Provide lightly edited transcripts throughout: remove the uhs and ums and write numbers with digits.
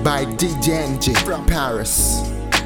by DJNG from Paris.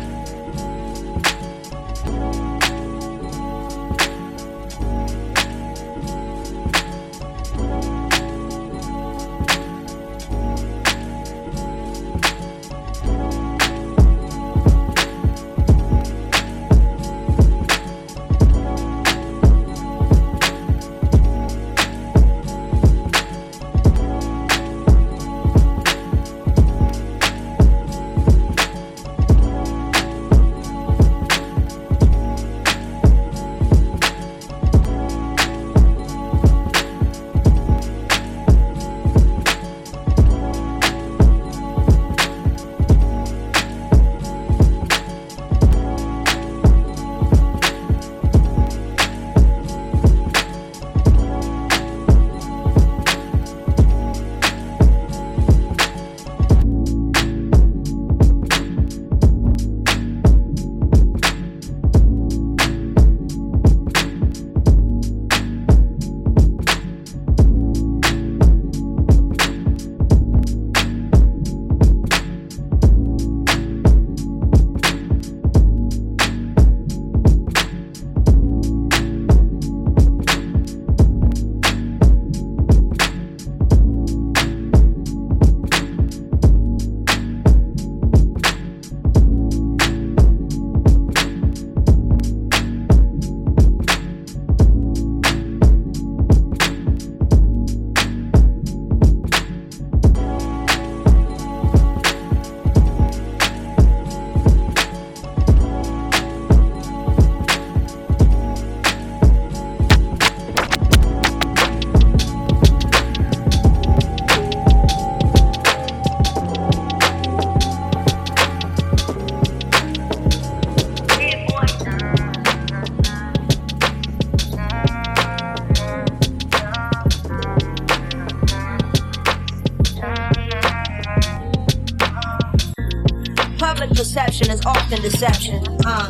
Public perception is often deception.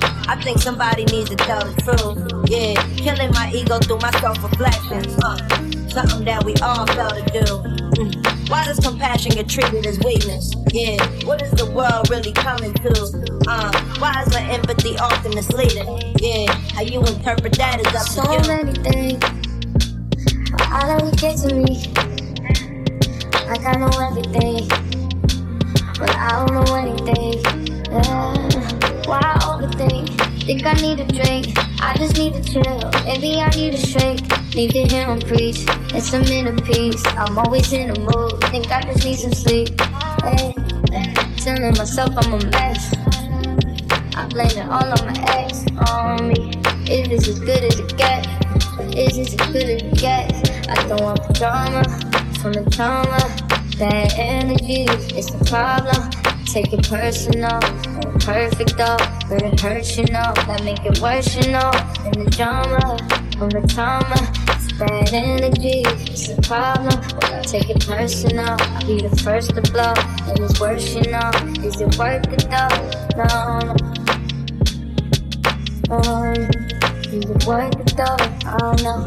I think somebody needs to tell the truth. Yeah, killing my ego through my self-reflection. Something that we all fail to do. Why does compassion get treated as weakness? Yeah, what is the world really coming to? Why is my empathy often misleading? Yeah, how you interpret that is up to you. So many things, how do you get to me? Like I know everything, but I don't know anything. Why I overthink? Think I need a drink, I just need to chill. Maybe I need a shake, need to hear him preach. It's a minute piece, I'm always in a mood. Think I just need some sleep. Hey, telling myself I'm a mess. I blame it all on my ex, on me. Is this as good as it gets? Is this as good as it gets? I don't want the drama from the trauma. Bad energy is the problem. Take it personal, ain't perfect though, but it hurts, you know. That make it worse, you know. And the drama from the trauma, it's bad energy, it's the problem. When I take it personal, I'll be the first to blow. And it's worse, you know. Is it worth it though? No. Is it worth it though? I don't know.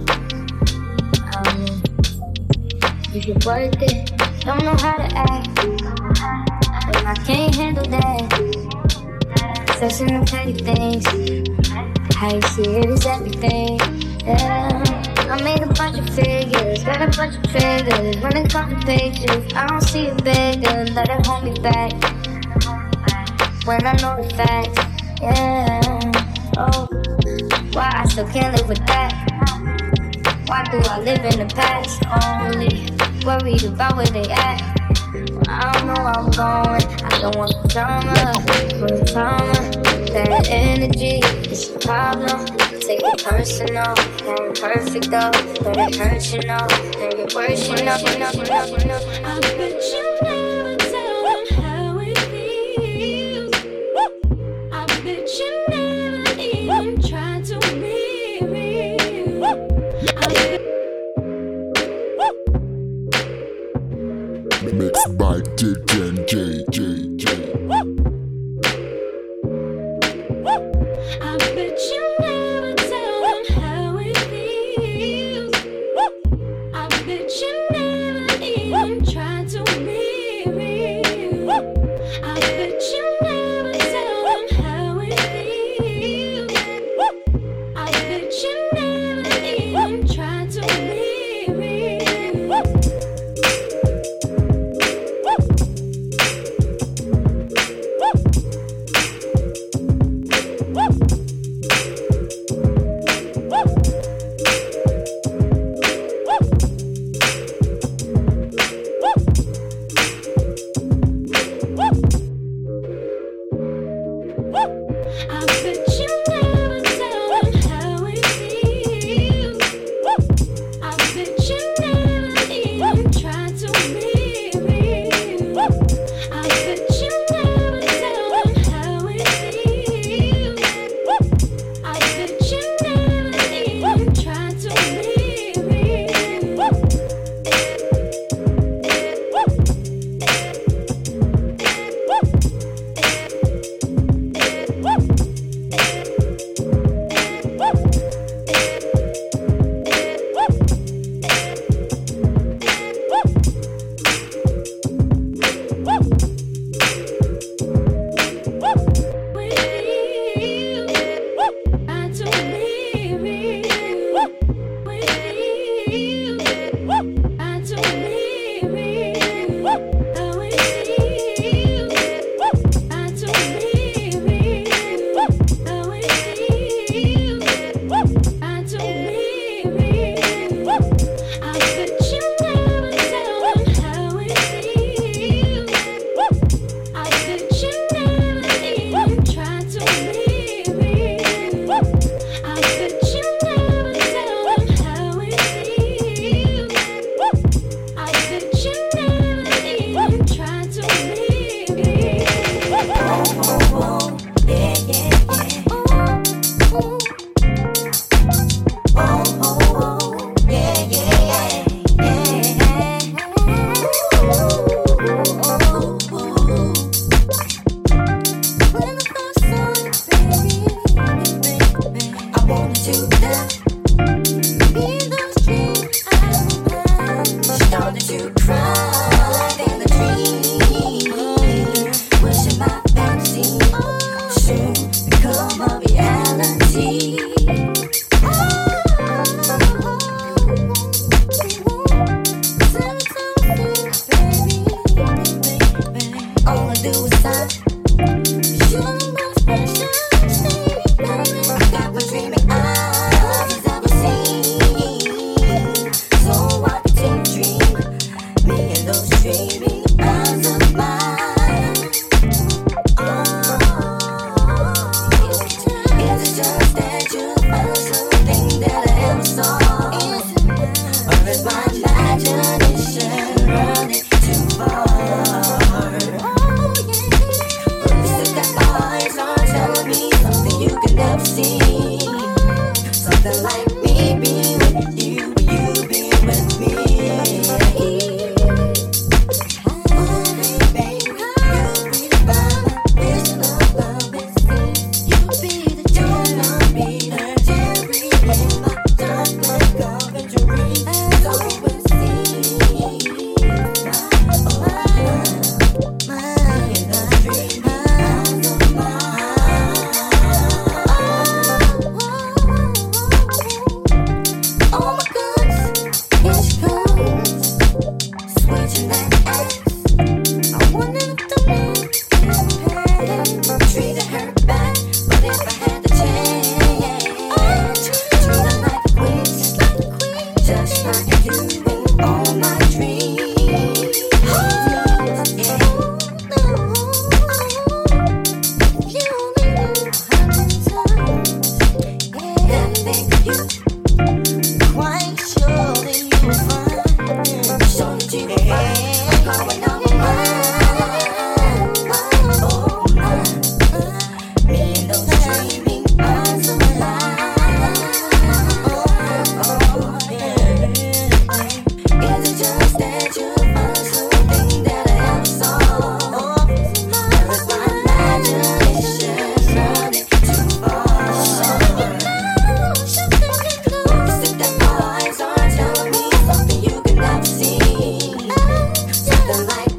Is it worth it? Don't know how to act, and I can't handle that. Stressing on petty things, how you see it is everything. Yeah, I made a bunch of figures, got a bunch of triggers. When it comes to pages, I don't see it bigger. Let it hold me back when I know the facts. Yeah, oh, why I still can't live with that? Why do I live in the past only? Worried about where they at. I don't know where I'm going. I don't want the drama, for the trauma. That energy is the problem. Take it personal, ain't perfect though, but it hurts, you know. Make it worse, you know. I bet you never tell them how it feels. I bet you never even try to be real. I bet Mixed by DJNG. I bet you never tell them how it feels. I bet you never even try to be real. Something like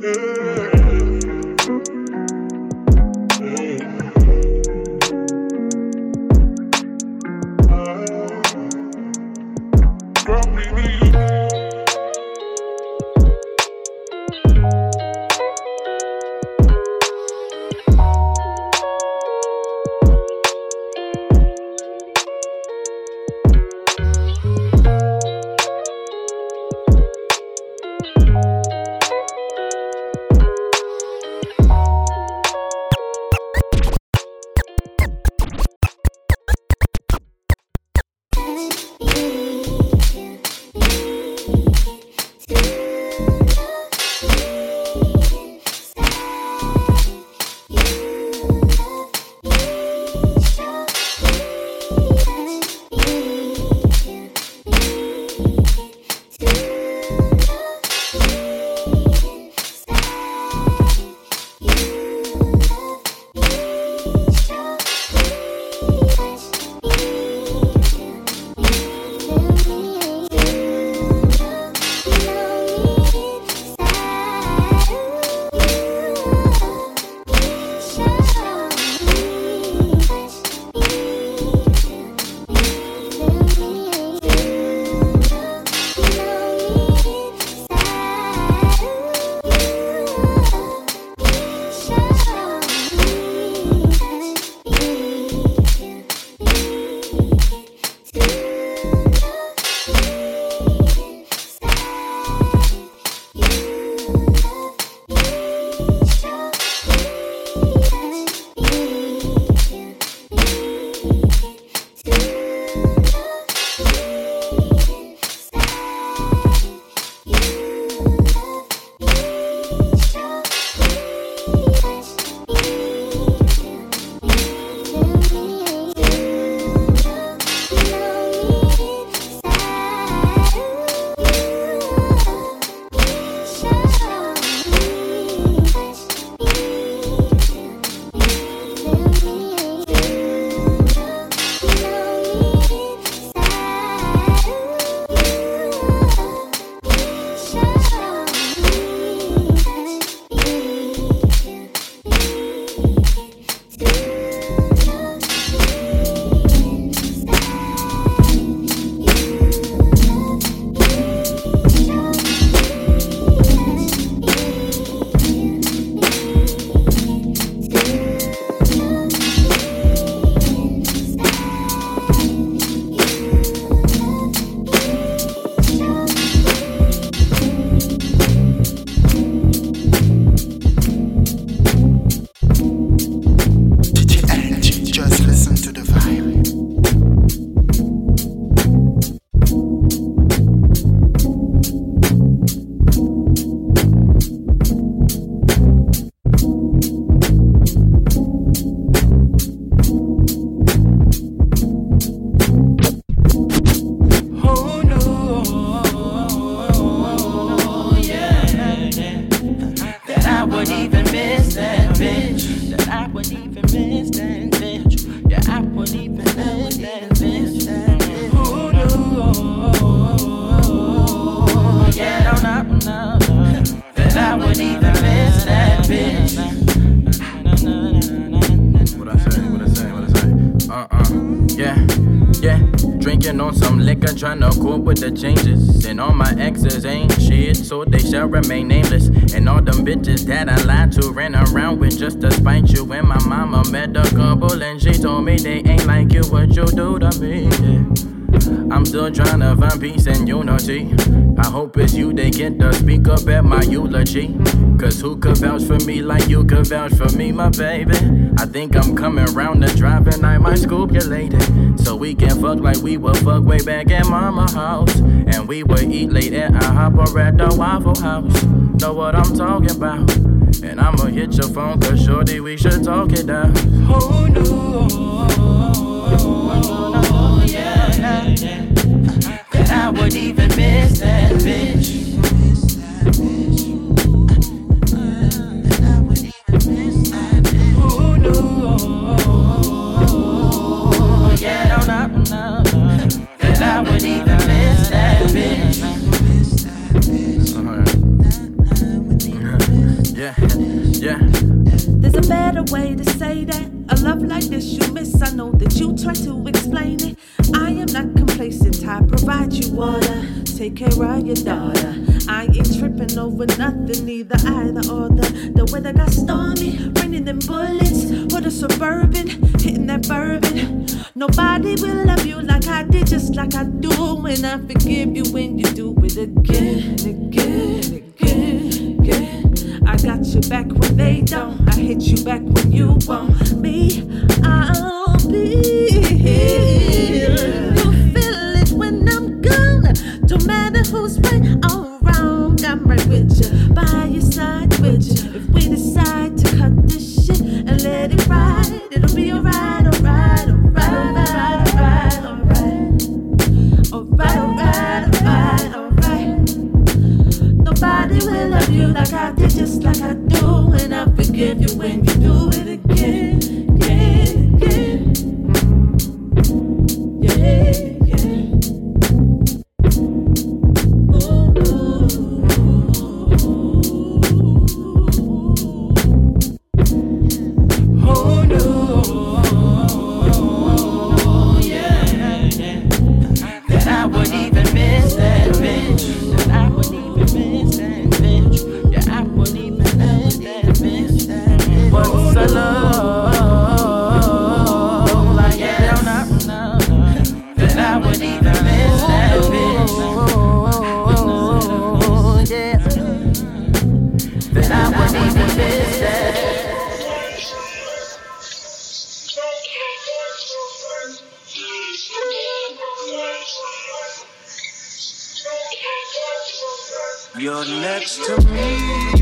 Tryna cope with the changes, and all my exes ain't shit, so they shall remain nameless. And all them bitches that I lied to ran around with just to spite you. And my mama met a couple and she told me they ain't like you, what you do to me. Yeah. I'm still tryna find peace and unity. I hope it's you they get to speak up at my eulogy. Cause who could vouch for me like you could vouch for me, my baby? I think I'm coming round to driving, I might scoop you later. So we can fuck like we would fuck way back at mama's house. And we would eat late at IHOP or at the Waffle House. Know what I'm talking about? And I'ma hit your phone cause shorty we should talk it out. Oh no, yeah, that I would even miss that bitch. Oh no, yeah, no, that I would even miss that bitch. Yeah, yeah. There's a better way to say that. A love like this you miss, I know that you try to explain it. I am not complacent, I provide you water. Take care of your daughter. I ain't tripping over nothing, either or. The weather got stormy, raining them bullets. Or the Suburban, hitting that bourbon. Nobody will love you like I did, just like I do. And I forgive you when you do it again, again, again, again. I got you back when they don't. I hit you back when you want me. I'll be here. You feel it when I'm gone. Don't matter who's right or wrong. I'm right with you, by your side with you. If we decide to cut this shit and let it ride, it'll be alright, alright, alright, alright, alright, alright, alright, alright. Nobody will love you like I did, just like I do. And I forgive you when you do it again, again, again. Yeah, yeah. Ooh, oh no, yeah, yeah. That I would even miss that bitch. That I would even miss that bitch. Yeah, I would even miss that bitch. What's a love like that? No. That I would even miss that bitch. Yeah. That I would even miss that. You're next to me.